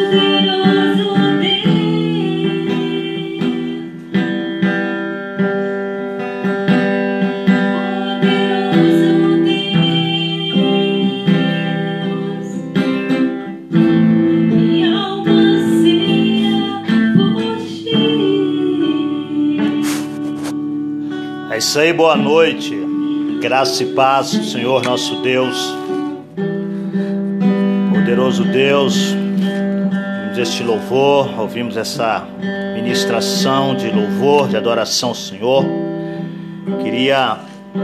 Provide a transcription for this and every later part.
É isso aí, boa noite, graça e paz do Senhor nosso Deus, poderoso Deus. Ouvimos este louvor, ouvimos essa ministração de louvor, de adoração ao Senhor. Queria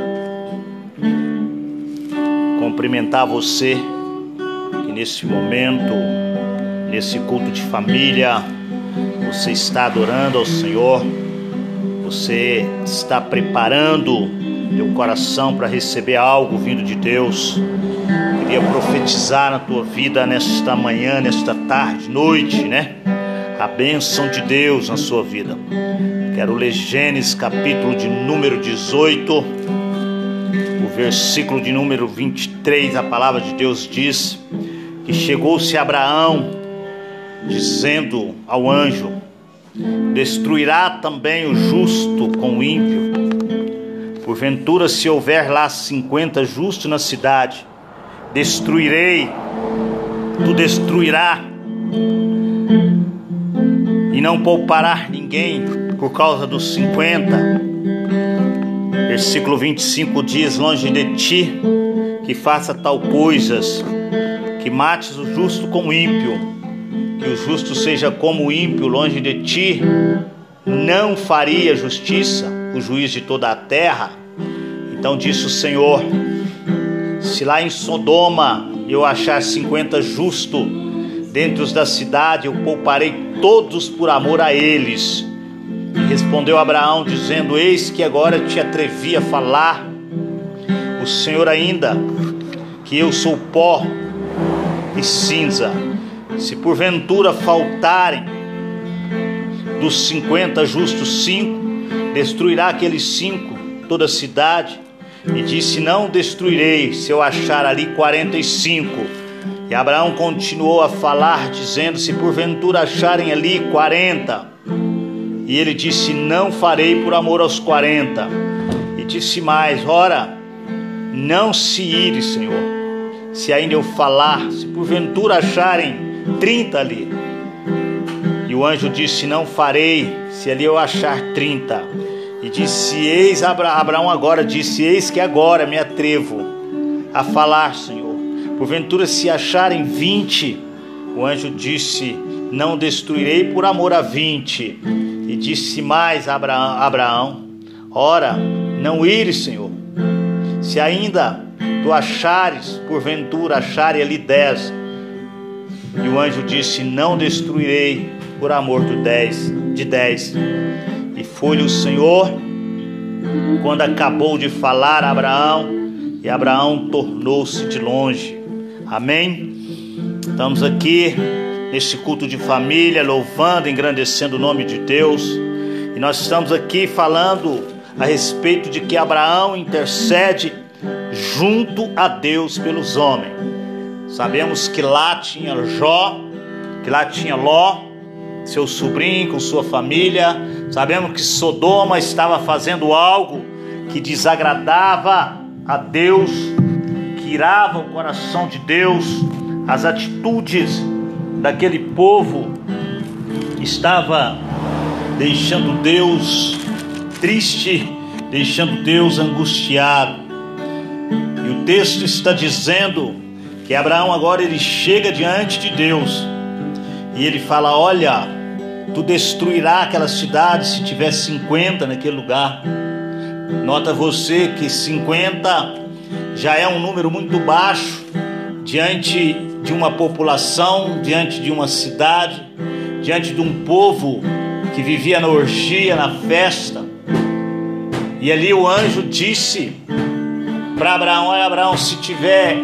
cumprimentar você que nesse momento, nesse culto de família, você está adorando ao Senhor. Você está preparando teu coração para receber algo vindo de Deus. Queria profetizar na tua vida nesta manhã, nesta tarde, noite, né? A bênção de Deus na sua vida. Quero ler Gênesis capítulo de número 18, o versículo de número 23. A palavra de Deus diz que chegou-se Abraão dizendo ao anjo: destruirá também o justo com o ímpio? Porventura, se houver lá 50 justos na cidade, destruirei, tu destruirá, e não poupará ninguém por causa dos 50. Versículo 25 diz: longe de ti que faça tal coisas, que mates o justo com o ímpio. Que o justo seja como o ímpio, longe de ti não faria justiça o juiz de toda a terra. Então disse o Senhor: se lá em Sodoma eu achar 50 justos dentro da cidade, eu pouparei todos por amor a eles. E respondeu Abraão dizendo: eis que agora te atrevi a falar o Senhor ainda, que eu sou pó e cinza. Se porventura faltarem dos 50 justos 5, destruirá aqueles 5 toda a cidade. E disse: não destruirei, se eu achar ali 45. E Abraão continuou a falar, dizendo: se porventura acharem ali 40. E ele disse: não farei por amor aos 40. E disse mais: ora, não se ire, Senhor, se ainda eu falar, se porventura acharem 30 ali. E o anjo disse: não farei, se ali eu achar 30. E disse: eis, Abraão agora disse: eis que agora me atrevo a falar, Senhor, porventura se acharem 20. O anjo disse: não destruirei por amor a 20. E disse mais Abraão: ora, não ires, Senhor, se ainda tu achares, porventura acharem ali 10. E o anjo disse: não destruirei por amor de 10. E foi-lhe o Senhor quando acabou de falar a Abraão, e Abraão tornou-se de longe. Amém? Estamos aqui nesse culto de família, louvando, engrandecendo o nome de Deus. E nós estamos aqui falando a respeito de que Abraão intercede junto a Deus pelos homens. Sabemos que lá tinha Jó, que lá tinha Ló, seu sobrinho com sua família. Sabemos que Sodoma estava fazendo algo que desagradava a Deus, que irava o coração de Deus. As atitudes daquele povo estava deixando Deus triste, deixando Deus angustiado. E o texto está dizendo que Abraão agora ele chega diante de Deus e ele fala: olha, tu destruirá aquela cidade se tiver 50 naquele lugar. Nota você que 50 já é um número muito baixo diante de uma população, diante de uma cidade, diante de um povo que vivia na orgia, na festa. E ali o anjo disse para Abraão: olha, Abraão, se tiver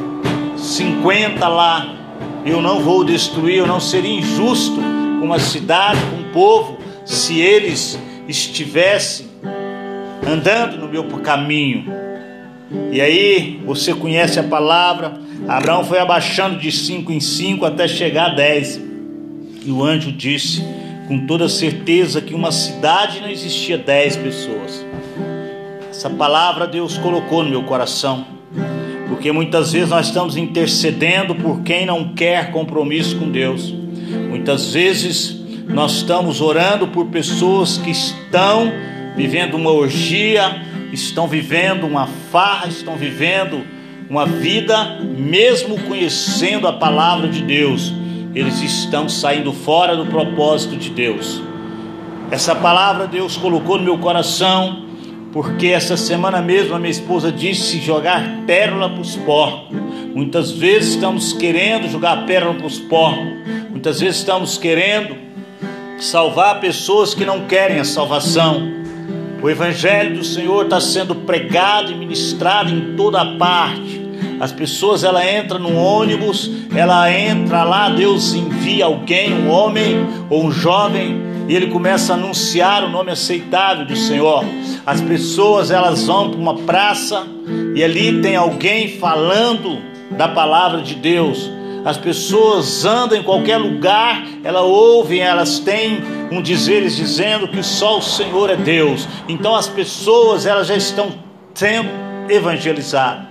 50 lá, eu não vou destruir. Eu não seria injusto com uma cidade, com um povo, se eles estivessem andando no meu caminho. E aí você conhece a palavra. Abraão foi abaixando de 5 em 5 até chegar a 10. E o anjo disse com toda certeza que uma cidade não existia 10 pessoas. Essa palavra Deus colocou no meu coração, porque muitas vezes nós estamos intercedendo por quem não quer compromisso com Deus. Muitas vezes nós estamos orando por pessoas que estão vivendo uma orgia, estão vivendo uma farra, estão vivendo uma vida, mesmo conhecendo a palavra de Deus, eles estão saindo fora do propósito de Deus. Essa palavra Deus colocou no meu coração, porque essa semana mesmo a minha esposa disse jogar pérola para os porcos. Muitas vezes estamos querendo jogar pérola para os porcos, muitas vezes estamos querendo salvar pessoas que não querem a salvação. O Evangelho do Senhor está sendo pregado e ministrado em toda parte. As pessoas, ela entra no ônibus, ela entra lá, Deus envia alguém, um homem ou um jovem, e ele começa a anunciar o nome aceitável do Senhor. As pessoas, elas vão para uma praça e ali tem alguém falando da palavra de Deus. As pessoas andam em qualquer lugar, elas ouvem, elas têm um dizeres dizendo que só o Senhor é Deus. Então as pessoas, elas já estão sendo evangelizadas.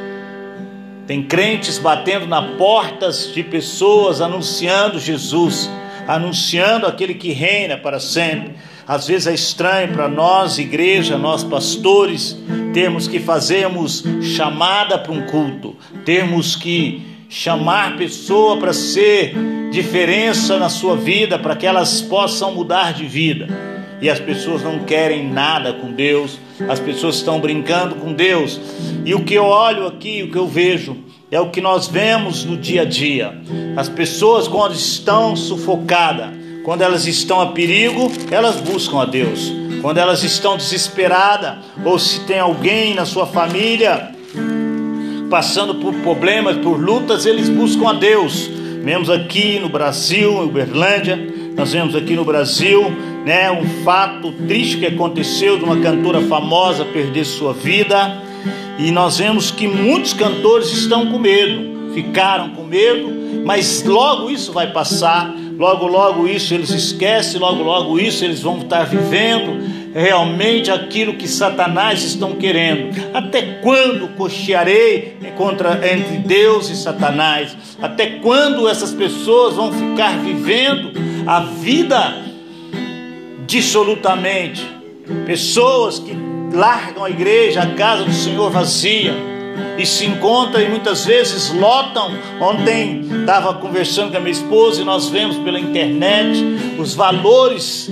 Tem crentes batendo nas portas de pessoas, anunciando Jesus, anunciando aquele que reina para sempre. Às vezes é estranho para nós, igreja, nós pastores, termos que fazermos chamada para um culto, termos que chamar pessoa para ser diferença na sua vida, para que elas possam mudar de vida. E as pessoas não querem nada com Deus, as pessoas estão brincando com Deus. E o que eu olho aqui, o que eu vejo, é o que nós vemos no dia a dia. As pessoas, quando estão sufocadas, quando elas estão a perigo, elas buscam a Deus. Quando elas estão desesperadas, ou se tem alguém na sua família passando por problemas, por lutas, eles buscam a Deus. Vemos aqui no Brasil, em Uberlândia, nós vemos aqui no Brasil, um fato triste que aconteceu de uma cantora famosa perder sua vida. E nós vemos que muitos cantores estão com medo, ficaram com medo, mas logo isso vai passar, logo isso eles esquecem, logo isso eles vão estar vivendo realmente aquilo que Satanás estão querendo. Até quando cochearei entre Deus e Satanás? Até quando essas pessoas vão ficar vivendo a vida dissolutamente? Pessoas que largam a igreja, a casa do Senhor vazia, e se encontram e muitas vezes lotam. Ontem estava conversando com a minha esposa e nós vemos pela internet os valores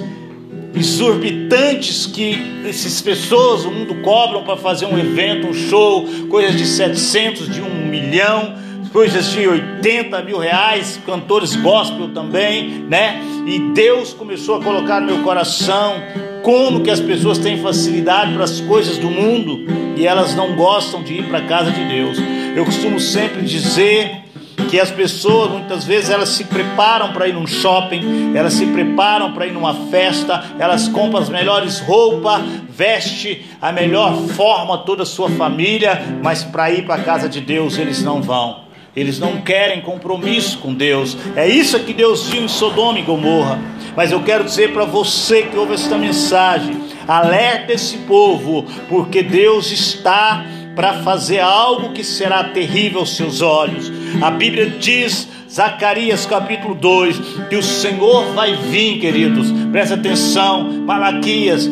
exorbitantes que essas pessoas, o mundo cobram para fazer um evento, um show, coisas de 700, de 1 milhão, coisas de 80 mil reais, cantores gospel também, E Deus começou a colocar no meu coração como que as pessoas têm facilidade para as coisas do mundo e elas não gostam de ir para a casa de Deus. Eu costumo sempre dizer que as pessoas, muitas vezes, elas se preparam para ir num shopping, elas se preparam para ir numa festa, elas compram as melhores roupas, veste a melhor forma toda a sua família, mas para ir para a casa de Deus eles não vão. Eles não querem compromisso com Deus. É isso que Deus viu em Sodoma e Gomorra. Mas eu quero dizer para você que ouve esta mensagem: alerta esse povo, porque Deus está para fazer algo que será terrível aos seus olhos. A Bíblia diz, Zacarias capítulo 2, que o Senhor vai vir, queridos, presta atenção, Malaquias,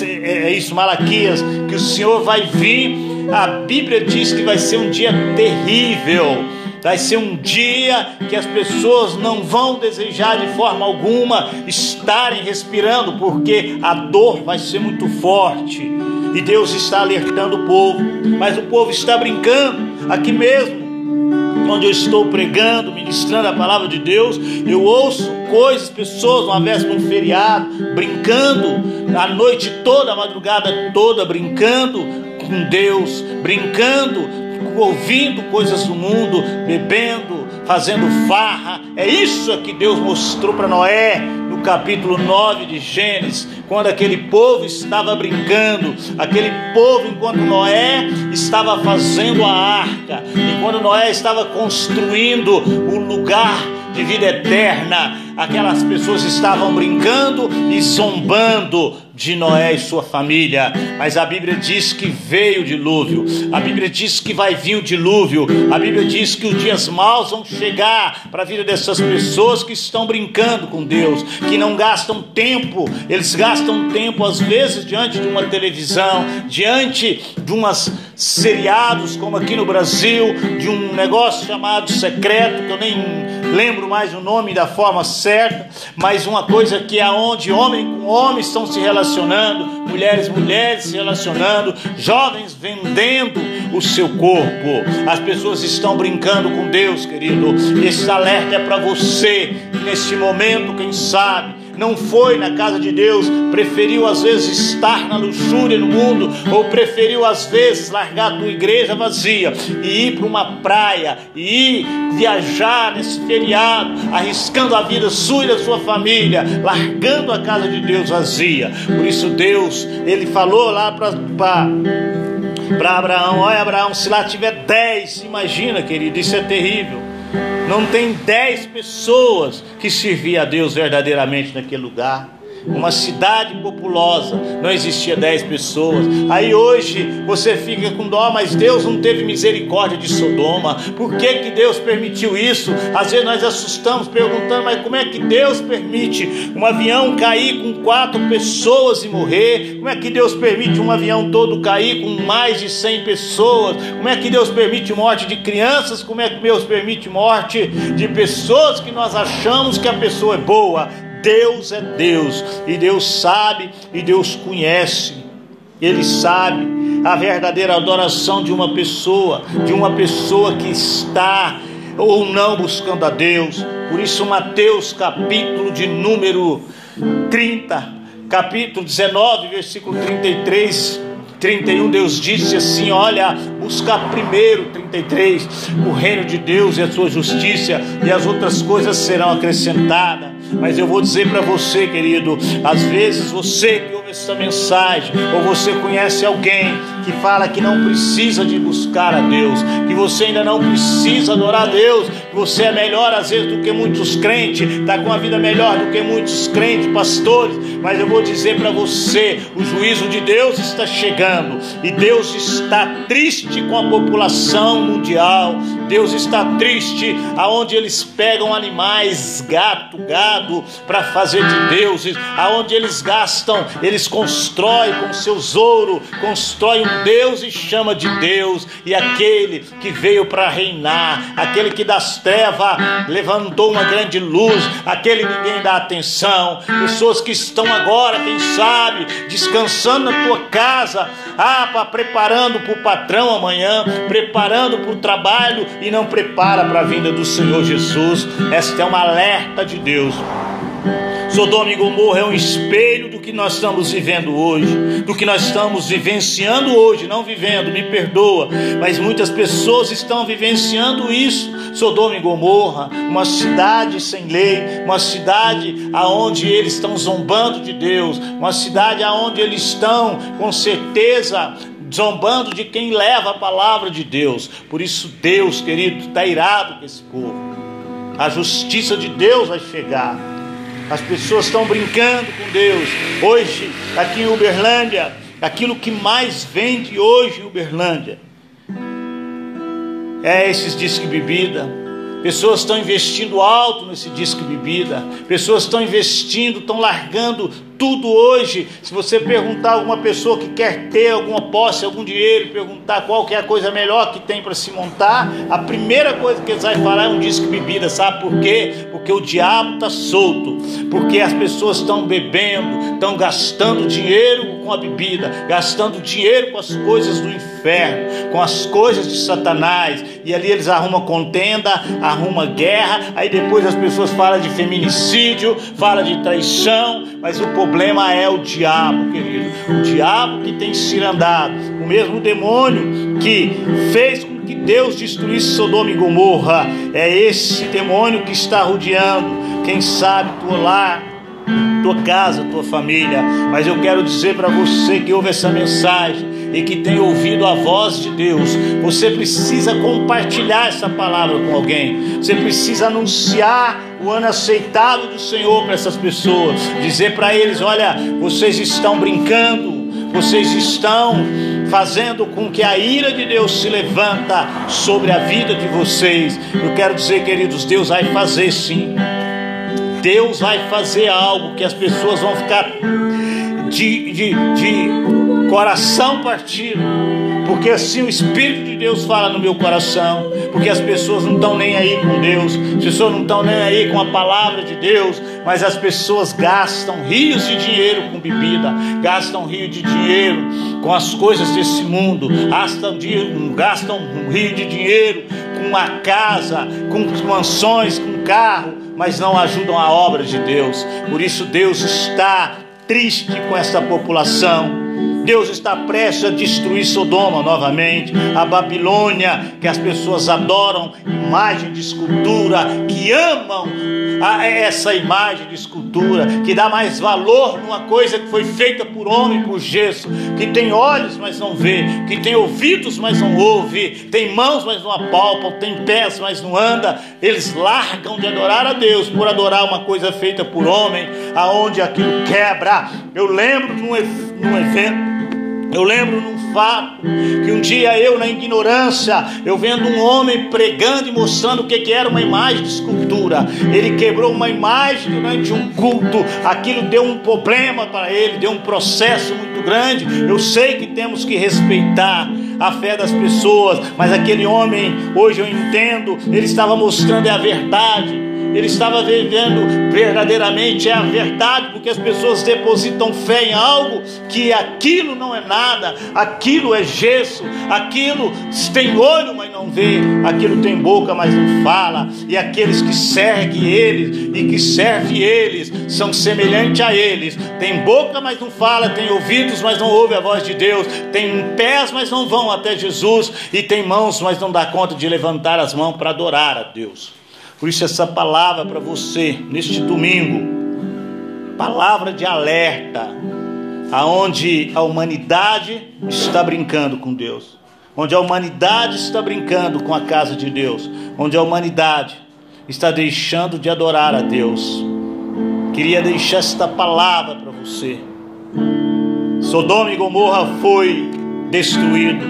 Malaquias, que o Senhor vai vir. A Bíblia diz que vai ser um dia terrível, vai ser um dia que as pessoas não vão desejar de forma alguma estarem respirando, porque a dor vai ser muito forte. E Deus está alertando o povo, mas o povo está brincando. Aqui mesmo, onde eu estou pregando, ministrando a palavra de Deus, eu ouço coisas, pessoas, uma véspera de um feriado, brincando a noite toda, a madrugada toda, brincando com Deus, brincando, ouvindo coisas do mundo, bebendo, fazendo farra. É isso que Deus mostrou para Noé no capítulo 9 de Gênesis, quando aquele povo estava brincando, aquele povo, enquanto Noé estava fazendo a arca, e quando Noé estava construindo o lugar de vida eterna. Aquelas pessoas estavam brincando e zombando de Noé e sua família, mas a Bíblia diz que veio o dilúvio, a Bíblia diz que vai vir o dilúvio, a Bíblia diz que os dias maus vão chegar para a vida dessas pessoas que estão brincando com Deus, que não gastam tempo. Eles gastam tempo às vezes diante de uma televisão, diante de umas seriados como aqui no Brasil, de um negócio chamado secreto, que eu nem lembro mais o nome da forma certa, mas uma coisa que é onde homem com homem estão se relacionando, mulheres se relacionando, jovens vendendo o seu corpo. As pessoas estão brincando com Deus, querido. Esse alerta é para você, neste momento, quem sabe não foi na casa de Deus, preferiu às vezes estar na luxúria no mundo, ou preferiu às vezes largar a tua igreja vazia e ir para uma praia, e ir viajar nesse feriado, arriscando a vida sua e da sua família, largando a casa de Deus vazia. Por isso Deus, Ele falou lá para Abraão: olha, Abraão, se lá tiver 10, imagina, querido, isso é terrível. Não tem 10 pessoas que serviam a Deus verdadeiramente naquele lugar. Uma cidade populosa, não existia 10 pessoas. Aí hoje você fica com dó, mas Deus não teve misericórdia de Sodoma. Por que que Deus permitiu isso? Às vezes nós assustamos perguntando, mas como é que Deus permite um avião cair com 4 pessoas e morrer? Como é que Deus permite um avião todo cair com mais de 100 pessoas? Como é que Deus permite morte de crianças? Como é que Deus permite morte de pessoas que nós achamos que a pessoa é boa? Deus é Deus, e Deus sabe, e Deus conhece. Ele sabe a verdadeira adoração de uma pessoa que está ou não buscando a Deus. Por isso Mateus capítulo de número 30, capítulo 19, versículo 31, Deus disse assim: olha, busca primeiro, 33, o reino de Deus e a sua justiça, e as outras coisas serão acrescentadas. Mas eu vou dizer para você, querido, às vezes você que ouve essa mensagem, ou você conhece alguém que fala que não precisa de buscar a Deus, que você ainda não precisa adorar a Deus, que você é melhor às vezes do que muitos crentes, está com uma vida melhor do que muitos crentes, pastores. Mas eu vou dizer para você, o juízo de Deus está chegando, e Deus está triste com a população mundial. Deus está triste aonde eles pegam animais, gado, para fazer de deuses, aonde eles gastam, eles constroem com seus ouro, constroem um Deus e chama de Deus. E aquele que veio para reinar, aquele que das trevas levantou uma grande luz, aquele ninguém dá atenção. Pessoas que estão agora, quem sabe, descansando na tua casa, preparando para o patrão amanhã, preparando para o trabalho, e não prepara para a vinda do Senhor Jesus. Esta é uma alerta de Deus. Sodoma e Gomorra é um espelho do que nós estamos vivendo hoje, do que nós estamos vivenciando hoje, não vivendo, me perdoa, mas muitas pessoas estão vivenciando isso. Sodoma e Gomorra, uma cidade sem lei, uma cidade aonde eles estão zombando de Deus, uma cidade aonde eles estão, com certeza, zombando de quem leva a palavra de Deus. Por isso Deus, querido, está irado com esse povo. A justiça de Deus vai chegar. As pessoas estão brincando com Deus. Hoje, aqui em Uberlândia, aquilo que mais vende hoje em Uberlândia é esses disque bebida. Pessoas estão investindo alto nesse disque bebida. Pessoas estão investindo, estão largando tudo hoje. Se você perguntar a alguma pessoa que quer ter alguma posse, algum dinheiro, perguntar qual que é a coisa melhor que tem para se montar, a primeira coisa que eles vão falar é um disque bebida. Sabe por quê? Porque o diabo está solto, porque as pessoas estão bebendo, estão gastando dinheiro com a bebida, gastando dinheiro com as coisas do inferno, com as coisas de Satanás, e ali eles arrumam contenda, arrumam guerra. Aí depois as pessoas falam de feminicídio, falam de traição, mas o problema é o diabo, querido. O diabo que tem cirandado, o mesmo demônio que fez com que Deus destruísse Sodoma e Gomorra, é esse demônio que está rodeando, quem sabe, teu lar, tua casa, tua família. Mas eu quero dizer para você que ouve essa mensagem, e que tem ouvido a voz de Deus. Você precisa compartilhar essa palavra com alguém. Você precisa anunciar o ano aceitável do Senhor para essas pessoas. Dizer para eles: olha, vocês estão brincando, vocês estão fazendo com que a ira de Deus se levanta sobre a vida de vocês. Eu quero dizer, queridos, Deus vai fazer sim. Deus vai fazer algo que as pessoas vão ficar de coração partido, porque assim o Espírito de Deus fala no meu coração. Porque as pessoas não estão nem aí com Deus, as pessoas não estão nem aí com a palavra de Deus, mas as pessoas gastam rios de dinheiro com bebida, gastam rio de dinheiro com as coisas desse mundo, gastam um rio de dinheiro com a casa, com mansões, com carro, mas não ajudam a obra de Deus. Por isso Deus está triste com essa população. Deus está prestes a destruir Sodoma novamente, a Babilônia, que as pessoas adoram imagem de escultura, que amam essa imagem de escultura, que dá mais valor numa coisa que foi feita por homem, por gesso, que tem olhos, mas não vê, que tem ouvidos, mas não ouve, tem mãos, mas não apalpam, tem pés, mas não anda. Eles largam de adorar a Deus por adorar uma coisa feita por homem, aonde aquilo quebra. Eu lembro num evento, eu lembro num fato, que um dia eu, na ignorância, eu vendo um homem pregando e mostrando o que era uma imagem de escultura. Ele quebrou uma imagem durante um culto, aquilo deu um problema para ele, deu um processo muito grande. Eu sei que temos que respeitar a fé das pessoas, mas aquele homem, hoje eu entendo, ele estava mostrando a verdade. Ele estava vivendo verdadeiramente a verdade, porque as pessoas depositam fé em algo que aquilo não é nada, aquilo é gesso, aquilo tem olho, mas não vê, aquilo tem boca, mas não fala. E aqueles que seguem eles e que servem eles são semelhantes a eles. Tem boca, mas não fala, tem ouvidos, mas não ouve a voz de Deus, tem pés, mas não vão até Jesus, e tem mãos, mas não dá conta de levantar as mãos para adorar a Deus. Por isso essa palavra para você, neste domingo, palavra de alerta, aonde a humanidade está brincando com Deus, onde a humanidade está brincando com a casa de Deus, onde a humanidade está deixando de adorar a Deus. Queria deixar esta palavra para você. Sodoma e Gomorra foi destruído,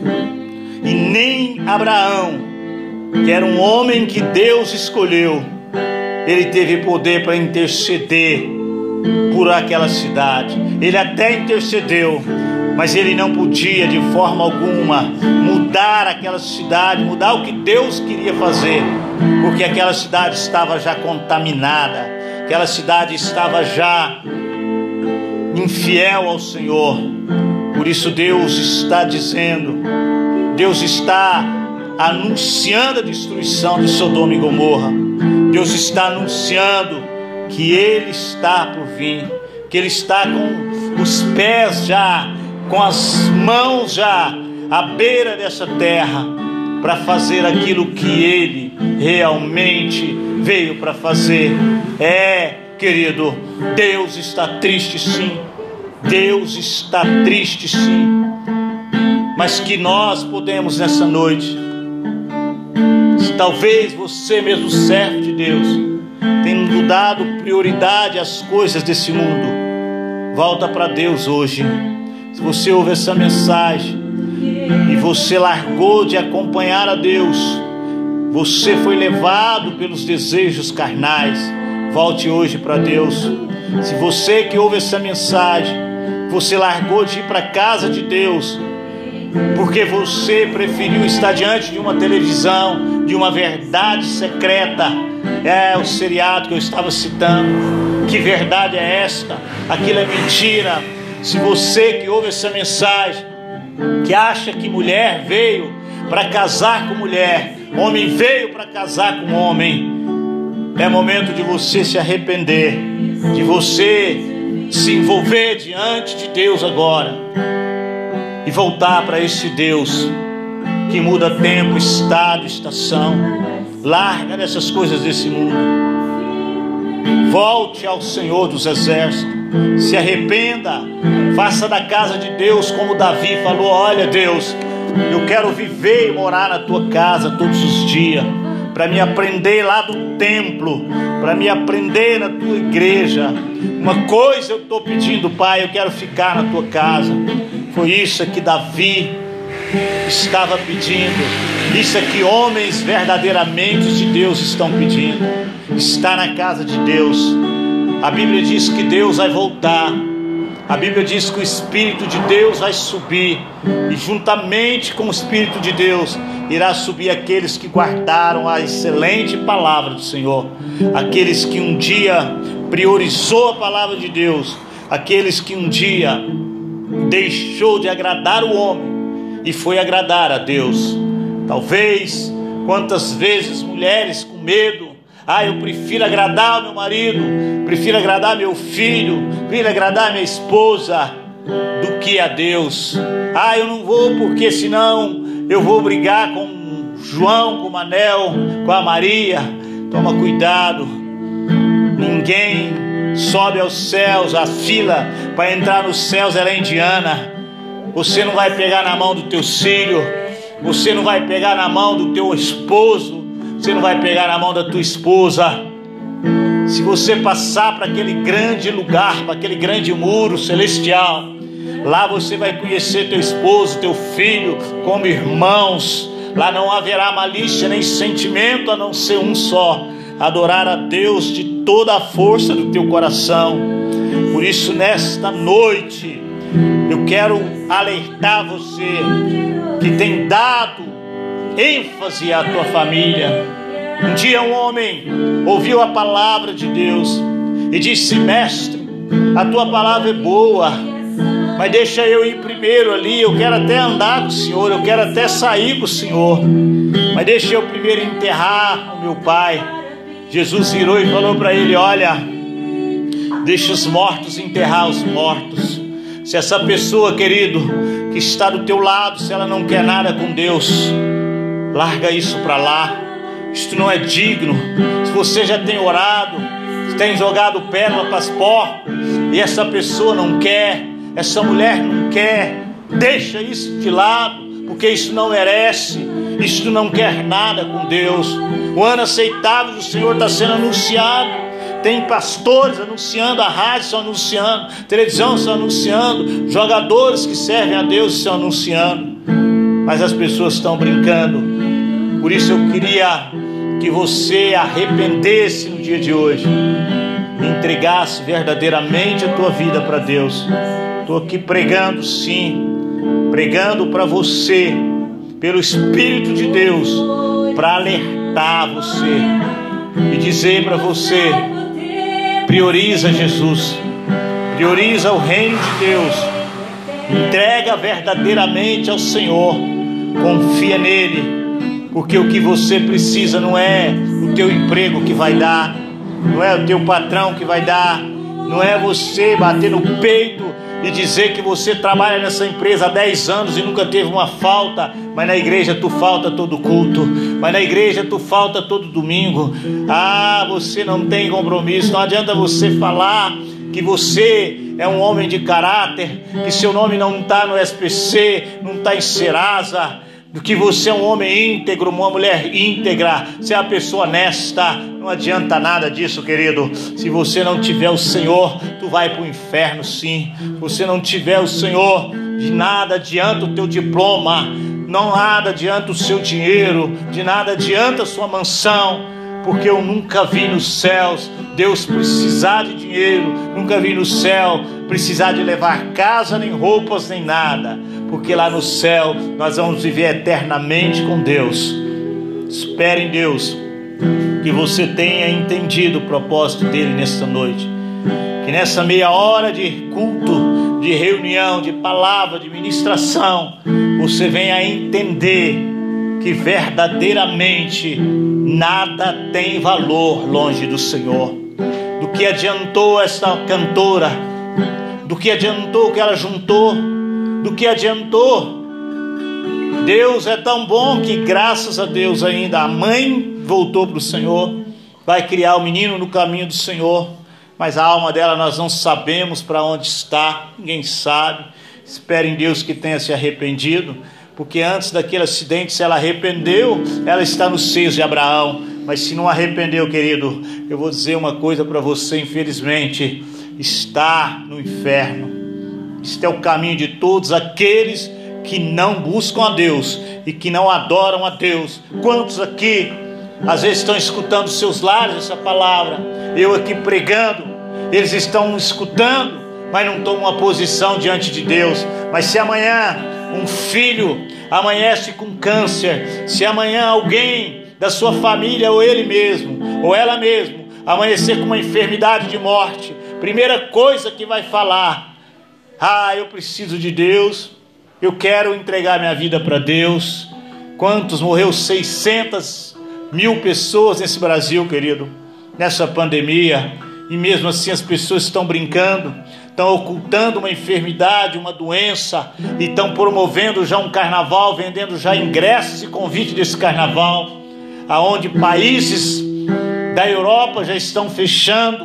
e nem Abraão, que era um homem que Deus escolheu, ele teve poder para interceder por aquela cidade. Ele até intercedeu, mas ele não podia de forma alguma mudar aquela cidade, mudar o que Deus queria fazer, porque aquela cidade estava já contaminada, aquela cidade estava já infiel ao Senhor. Por isso Deus está dizendo, Deus está anunciando a destruição de Sodoma e Gomorra. Deus está anunciando que Ele está por vir, que Ele está com os pés já, com as mãos já à beira dessa terra, para fazer aquilo que Ele realmente veio para fazer. Querido, Deus está triste sim, Deus está triste sim, mas que nós podemos nessa noite, talvez você mesmo, servo de Deus, tendo dado prioridade às coisas desse mundo, volta para Deus hoje. Se você ouve essa mensagem e você largou de acompanhar a Deus, você foi levado pelos desejos carnais, volte hoje para Deus. Se você que ouve essa mensagem, você largou de ir para a casa de Deus, porque você preferiu estar diante de uma televisão, de uma verdade secreta, o seriado que eu estava citando. Que verdade é esta? Aquilo é mentira. Se você que ouve essa mensagem, que acha que mulher veio para casar com mulher, homem veio para casar com homem, é momento de você se arrepender, de você se envolver diante de Deus agora e voltar para esse Deus que muda tempo, estado, estação. Larga dessas coisas desse mundo, volte ao Senhor dos Exércitos, Se arrependa, faça da casa de Deus como Davi falou: olha, Deus, eu quero viver e morar na tua casa todos os dias, para me aprender lá do templo, para me aprender na tua igreja. Uma coisa eu estou pedindo, Pai, eu quero ficar na tua casa. Foi isso que Davi estava pedindo. Isso é que homens verdadeiramente de Deus estão pedindo: estar na casa de Deus. A Bíblia diz que Deus vai voltar. A Bíblia diz que o Espírito de Deus vai subir, e juntamente com o Espírito de Deus irá subir aqueles que guardaram a excelente palavra do Senhor, aqueles que um dia priorizou a palavra de Deus, aqueles que um dia deixou de agradar o homem e foi agradar a Deus. Talvez, quantas vezes mulheres com medo: eu prefiro agradar o meu marido, prefiro agradar meu filho, prefiro agradar minha esposa, do que a Deus. Eu não vou porque senão eu vou brigar com João, com o Manel, com a Maria. Toma cuidado, ninguém sobe aos céus. A fila para entrar nos céus ela é indiana. Você não vai pegar na mão do teu filho, você não vai pegar na mão do teu esposo, você não vai pegar na mão da tua esposa. Se você passar para aquele grande lugar, para aquele grande muro celestial, lá você vai conhecer teu esposo, teu filho como irmãos. Lá não haverá malícia nem sentimento, a não ser um só: adorar a Deus de toda a força do teu coração. Por isso, nesta noite, eu quero alertar você que tem dado ênfase à tua família. Um dia um homem ouviu a palavra de Deus e disse: mestre, a tua palavra é boa, mas deixa eu ir primeiro ali, eu quero até andar com o Senhor, eu quero até sair com o Senhor, mas deixa eu primeiro enterrar o meu pai. Jesus virou e falou para ele: olha, deixa os mortos enterrar os mortos. Se essa pessoa, querido, que está do teu lado, se ela não quer nada com Deus, larga isso para lá. Isto não é digno. Se você já tem orado, tem jogado pérola para as porcas, e essa pessoa não quer, essa mulher não quer, deixa isso de lado, porque isso não merece, isso não quer nada com Deus. O ano aceitável do Senhor está sendo anunciado. Tem pastores anunciando, a rádio estão anunciando, televisão estão anunciando, jogadores que servem a Deus estão anunciando, mas as pessoas estão brincando. Por isso eu queria que você arrependesse no dia de hoje, entregasse verdadeiramente a tua vida para Deus. Estou aqui pregando, sim, pregando para você, pelo Espírito de Deus, para alertar você e dizer para você: prioriza Jesus, prioriza o reino de Deus, entrega verdadeiramente ao Senhor, confia nele. Porque o que você precisa não é o teu emprego que vai dar, não é o teu patrão que vai dar, não é você bater no peito e dizer que você trabalha nessa empresa há 10 anos e nunca teve uma falta, mas na igreja tu falta todo culto, mas na igreja tu falta todo domingo. Você não tem compromisso. Não adianta você falar que você é um homem de caráter, que seu nome não está no SPC, não está em Serasa, do que você é um homem íntegro, uma mulher íntegra, você é uma pessoa honesta. Não adianta nada disso, querido. Se você não tiver o Senhor, tu vai para o inferno, sim. Se você não tiver o Senhor, de nada adianta o teu diploma, não nada adianta o seu dinheiro, de nada adianta a sua mansão, porque eu nunca vi nos céus Deus precisar de dinheiro, nunca vi no céu precisar de levar casa, nem roupas, nem nada, porque lá no céu nós vamos viver eternamente com Deus. Espere em Deus, que você tenha entendido o propósito dele nesta noite, que nessa meia hora de culto, de reunião, de palavra, de ministração, você venha a entender que verdadeiramente nada tem valor longe do Senhor. Do que adiantou esta cantora? Do que adiantou o que ela juntou? Do que adiantou? Deus é tão bom que, graças a Deus, ainda a mãe voltou para o Senhor, vai criar o menino no caminho do Senhor. mas a alma dela nós não sabemos para onde está, ninguém sabe. Espero em Deus que tenha se arrependido, porque antes daquele acidente, se ela arrependeu, ela está nos seios de Abraão. Mas se não arrependeu, querido, eu vou dizer uma coisa para você, infelizmente, está no inferno. Este é o caminho de todos aqueles que não buscam a Deus e que não adoram a Deus. Quantos aqui às vezes estão escutando seus lares essa palavra, eu aqui pregando, eles estão escutando, mas não tomam uma posição diante de Deus. Mas se amanhã um filho amanhece com câncer, se amanhã alguém da sua família, ou ele mesmo, ou ela mesmo, amanhecer com uma enfermidade de morte, primeira coisa que vai falar: eu preciso de Deus, eu quero entregar minha vida para Deus. Quantos morreu? 600 mil pessoas nesse Brasil, querido, nessa pandemia, e mesmo assim as pessoas estão brincando, estão ocultando uma enfermidade, uma doença, e estão promovendo já um carnaval, vendendo já ingressos e convite desse carnaval, aonde países da Europa já estão fechando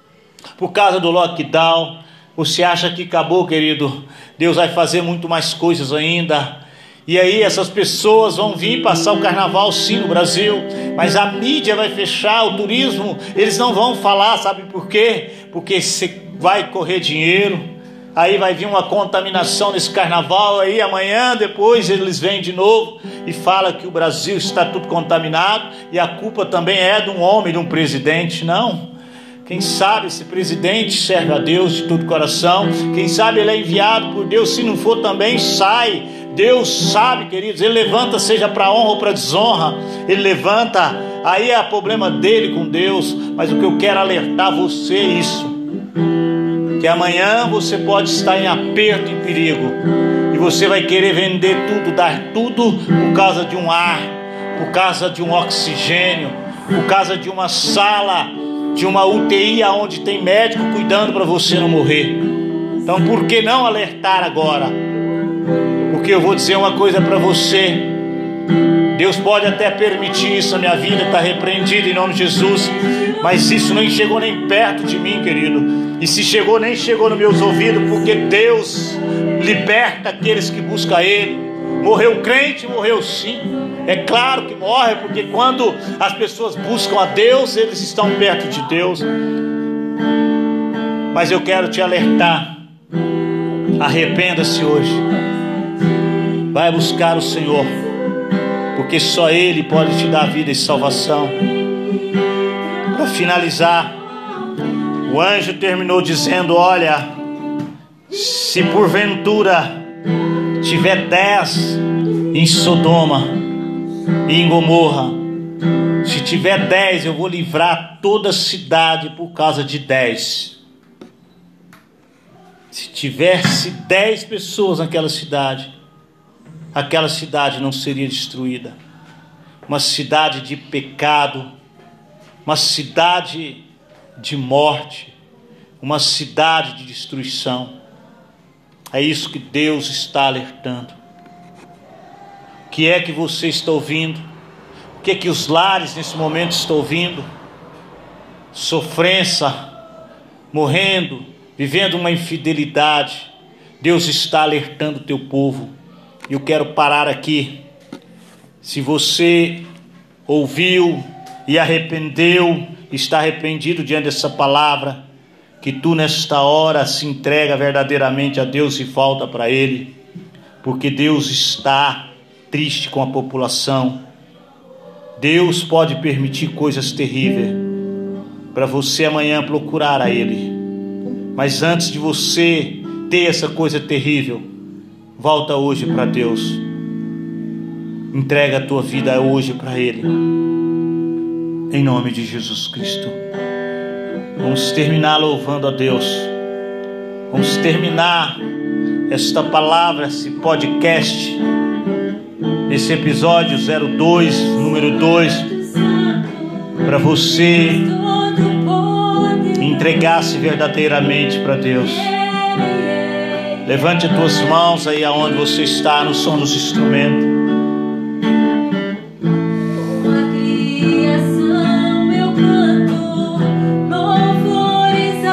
por causa do lockdown. Você acha que acabou, querido? Deus vai fazer muito mais coisas ainda. E aí essas pessoas vão vir passar o carnaval sim no Brasil, mas a mídia vai fechar, o turismo, eles não vão falar, sabe por quê? Porque você vai correr dinheiro, aí vai vir uma contaminação nesse carnaval, aí amanhã depois eles vêm de novo e falam que o Brasil está tudo contaminado, e a culpa também é de um homem, de um presidente. Não. Quem sabe esse presidente serve a Deus de todo coração, quem sabe ele é enviado por Deus, se não for também sai. Deus sabe, queridos, ele levanta, seja para honra ou para desonra, ele levanta, aí é o problema dele com Deus. Mas o que eu quero alertar você é isso, que amanhã você pode estar em aperto, em perigo, e você vai querer vender tudo, dar tudo por causa de um ar, por causa de um oxigênio, por causa de uma sala, de uma UTI onde tem médico cuidando para você não morrer. Então por que não alertar agora? Porque eu vou dizer uma coisa para você, Deus pode até permitir isso, a minha vida está repreendida em nome de Jesus, mas isso nem chegou nem perto de mim, querido. E se chegou, nem chegou nos meus ouvidos, porque Deus liberta aqueles que buscam Ele. Morreu crente, morreu sim, é claro que morre, porque quando as pessoas buscam a Deus, eles estão perto de Deus. Mas eu quero te alertar, arrependa-se hoje, vai buscar o Senhor, porque só Ele pode te dar vida e salvação. Para finalizar, o anjo terminou dizendo: olha, se porventura tiver 10 em Sodoma e em Gomorra, se tiver 10, eu vou livrar toda a cidade por causa de 10. Se tivesse 10 pessoas naquela cidade, aquela cidade não seria destruída. Uma cidade de pecado, uma cidade de morte, uma cidade de destruição. É isso que Deus está alertando. O que é que você está ouvindo? O que é que os lares nesse momento estão ouvindo? Sofrência, morrendo, vivendo uma infidelidade. Deus está alertando o teu povo. E eu quero parar aqui. Se você ouviu e arrependeu, está arrependido diante dessa palavra, que tu nesta hora se entrega verdadeiramente a Deus e volta para Ele, porque Deus está triste com a população. Deus pode permitir coisas terríveis para você amanhã procurar a Ele, mas antes de você ter essa coisa terrível, volta hoje para Deus, entrega a tua vida hoje para Ele, em nome de Jesus Cristo. Vamos terminar louvando a Deus. Vamos terminar esta palavra, esse podcast, nesse episódio 02, número 2, para você entregar-se verdadeiramente para Deus. Levante as tuas mãos aí aonde você está, no som dos instrumentos. Criação eu canto louvores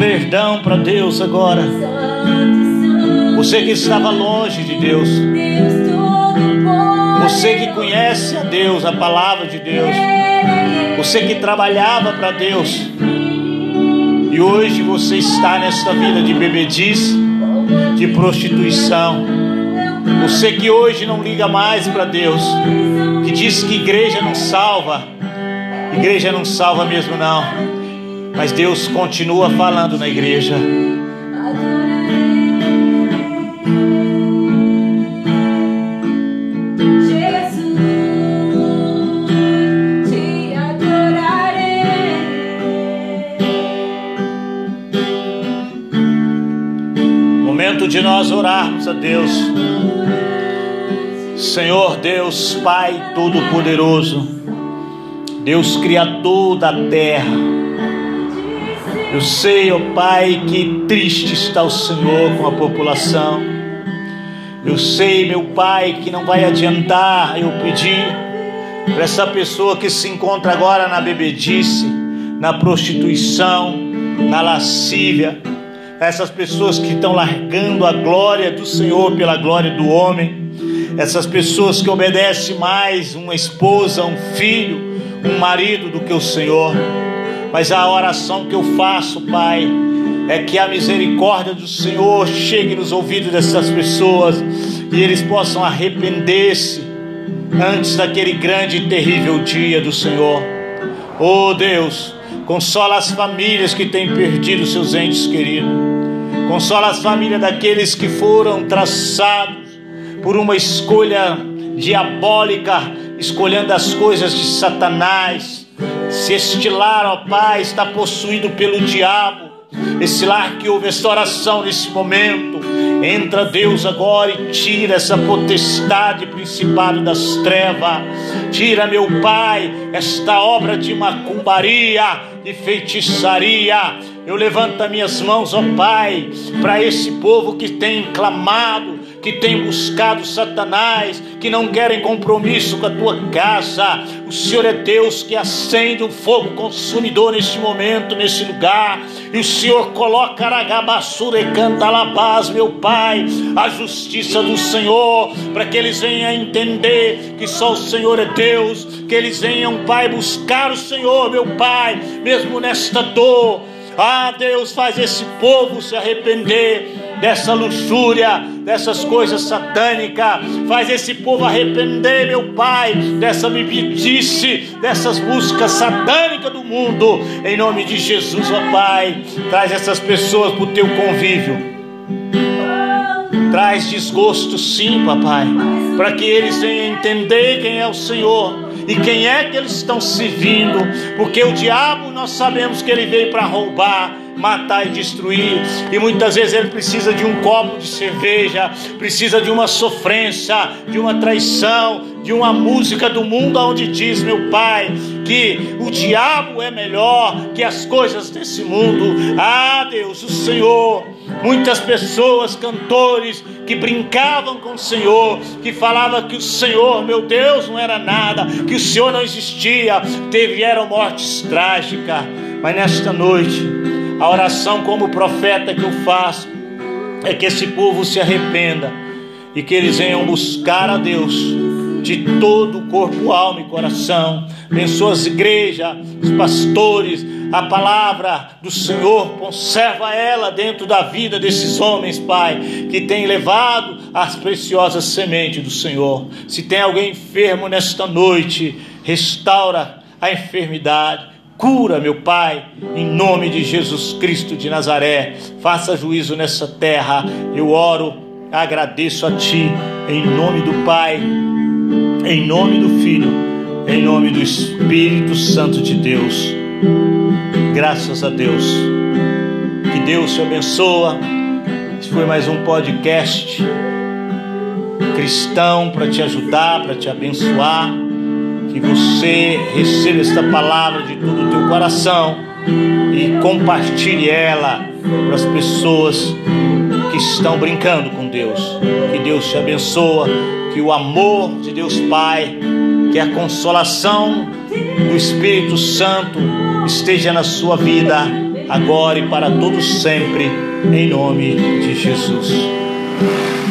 perdão para Deus agora. Você que estava longe de Deus, você que conhece a Deus, a palavra de Deus, você que trabalhava para Deus e hoje você está nesta vida de bebedice, de prostituição. Você que hoje não liga mais para Deus, que diz que igreja não salva mesmo não, mas Deus continua falando na igreja. Momento de nós orarmos a Deus. Senhor Deus, Pai Todo-Poderoso, Deus Criador da terra, eu sei, ó Pai, que triste está o Senhor com a população. Eu sei, meu Pai, que não vai adiantar eu pedir para essa pessoa que se encontra agora na bebedice, na prostituição, na lascívia, essas pessoas que estão largando a glória do Senhor pela glória do homem, essas pessoas que obedecem mais uma esposa, um filho, um marido do que o Senhor. Mas a oração que eu faço, Pai, é que a misericórdia do Senhor chegue nos ouvidos dessas pessoas e eles possam arrepender-se antes daquele grande e terrível dia do Senhor. Oh Deus, consola as famílias que têm perdido seus entes queridos. Consola as famílias daqueles que foram traçados por uma escolha diabólica, escolhendo as coisas de Satanás. Se este lar, ó Pai, está possuído pelo diabo, esse lar que houve esta oração nesse momento, entra Deus agora e tira essa potestade, principado das trevas. Tira, meu Pai, esta obra de macumbaria, de feitiçaria. Eu levanto as minhas mãos, ó Pai, para esse povo que tem clamado, que tem buscado Satanás, que não querem compromisso com a tua casa. O Senhor é Deus que acende um fogo consumidor neste momento, nesse lugar, e o Senhor coloca Aragabassura e Cantalabás, meu Pai, a justiça do Senhor, para que eles venham a entender que só o Senhor é Deus, que eles venham, Pai, buscar o Senhor, meu Pai, mesmo nesta dor. Ah, Deus, faz esse povo se arrepender dessa luxúria, dessas coisas satânicas. Faz esse povo arrepender, meu Pai, dessa bebedice, dessas buscas satânicas do mundo. Em nome de Jesus, ó Pai, traz essas pessoas para o teu convívio. Traz desgosto, sim, papai, para que eles venham entender quem é o Senhor e quem é que eles estão servindo, porque o diabo, nós sabemos que ele veio para roubar, matar e destruir, e muitas vezes ele precisa de um copo de cerveja, precisa de uma sofrência, de uma traição, de uma música do mundo onde diz, meu Pai, que o diabo é melhor que as coisas desse mundo. Ah, Deus, o Senhor, muitas pessoas, cantores, que brincavam com o Senhor, que falavam que o Senhor, meu Deus, não era nada, que o Senhor não existia, tiveram mortes trágicas. Mas nesta noite, a oração como profeta que eu faço é que esse povo se arrependa e que eles venham buscar a Deus de todo o corpo, alma e coração. Abençoa as igrejas, os pastores, a palavra do Senhor, conserva ela dentro da vida desses homens, Pai, que tem levado as preciosas sementes do Senhor. Se tem alguém enfermo nesta noite, restaura a enfermidade, cura, meu Pai, em nome de Jesus Cristo de Nazaré. Faça juízo nessa terra. Eu oro, agradeço a Ti, em nome do Pai, em nome do Filho, em nome do Espírito Santo de Deus. Graças a Deus. Que Deus te abençoe. Esse foi mais um podcast cristão para te ajudar, para te abençoar. Que você receba esta palavra de todo o teu coração e compartilhe ela para as pessoas que estão brincando com Deus. Que Deus te abençoe, que o amor de Deus Pai, que a consolação do Espírito Santo esteja na sua vida agora e para todos sempre, em nome de Jesus.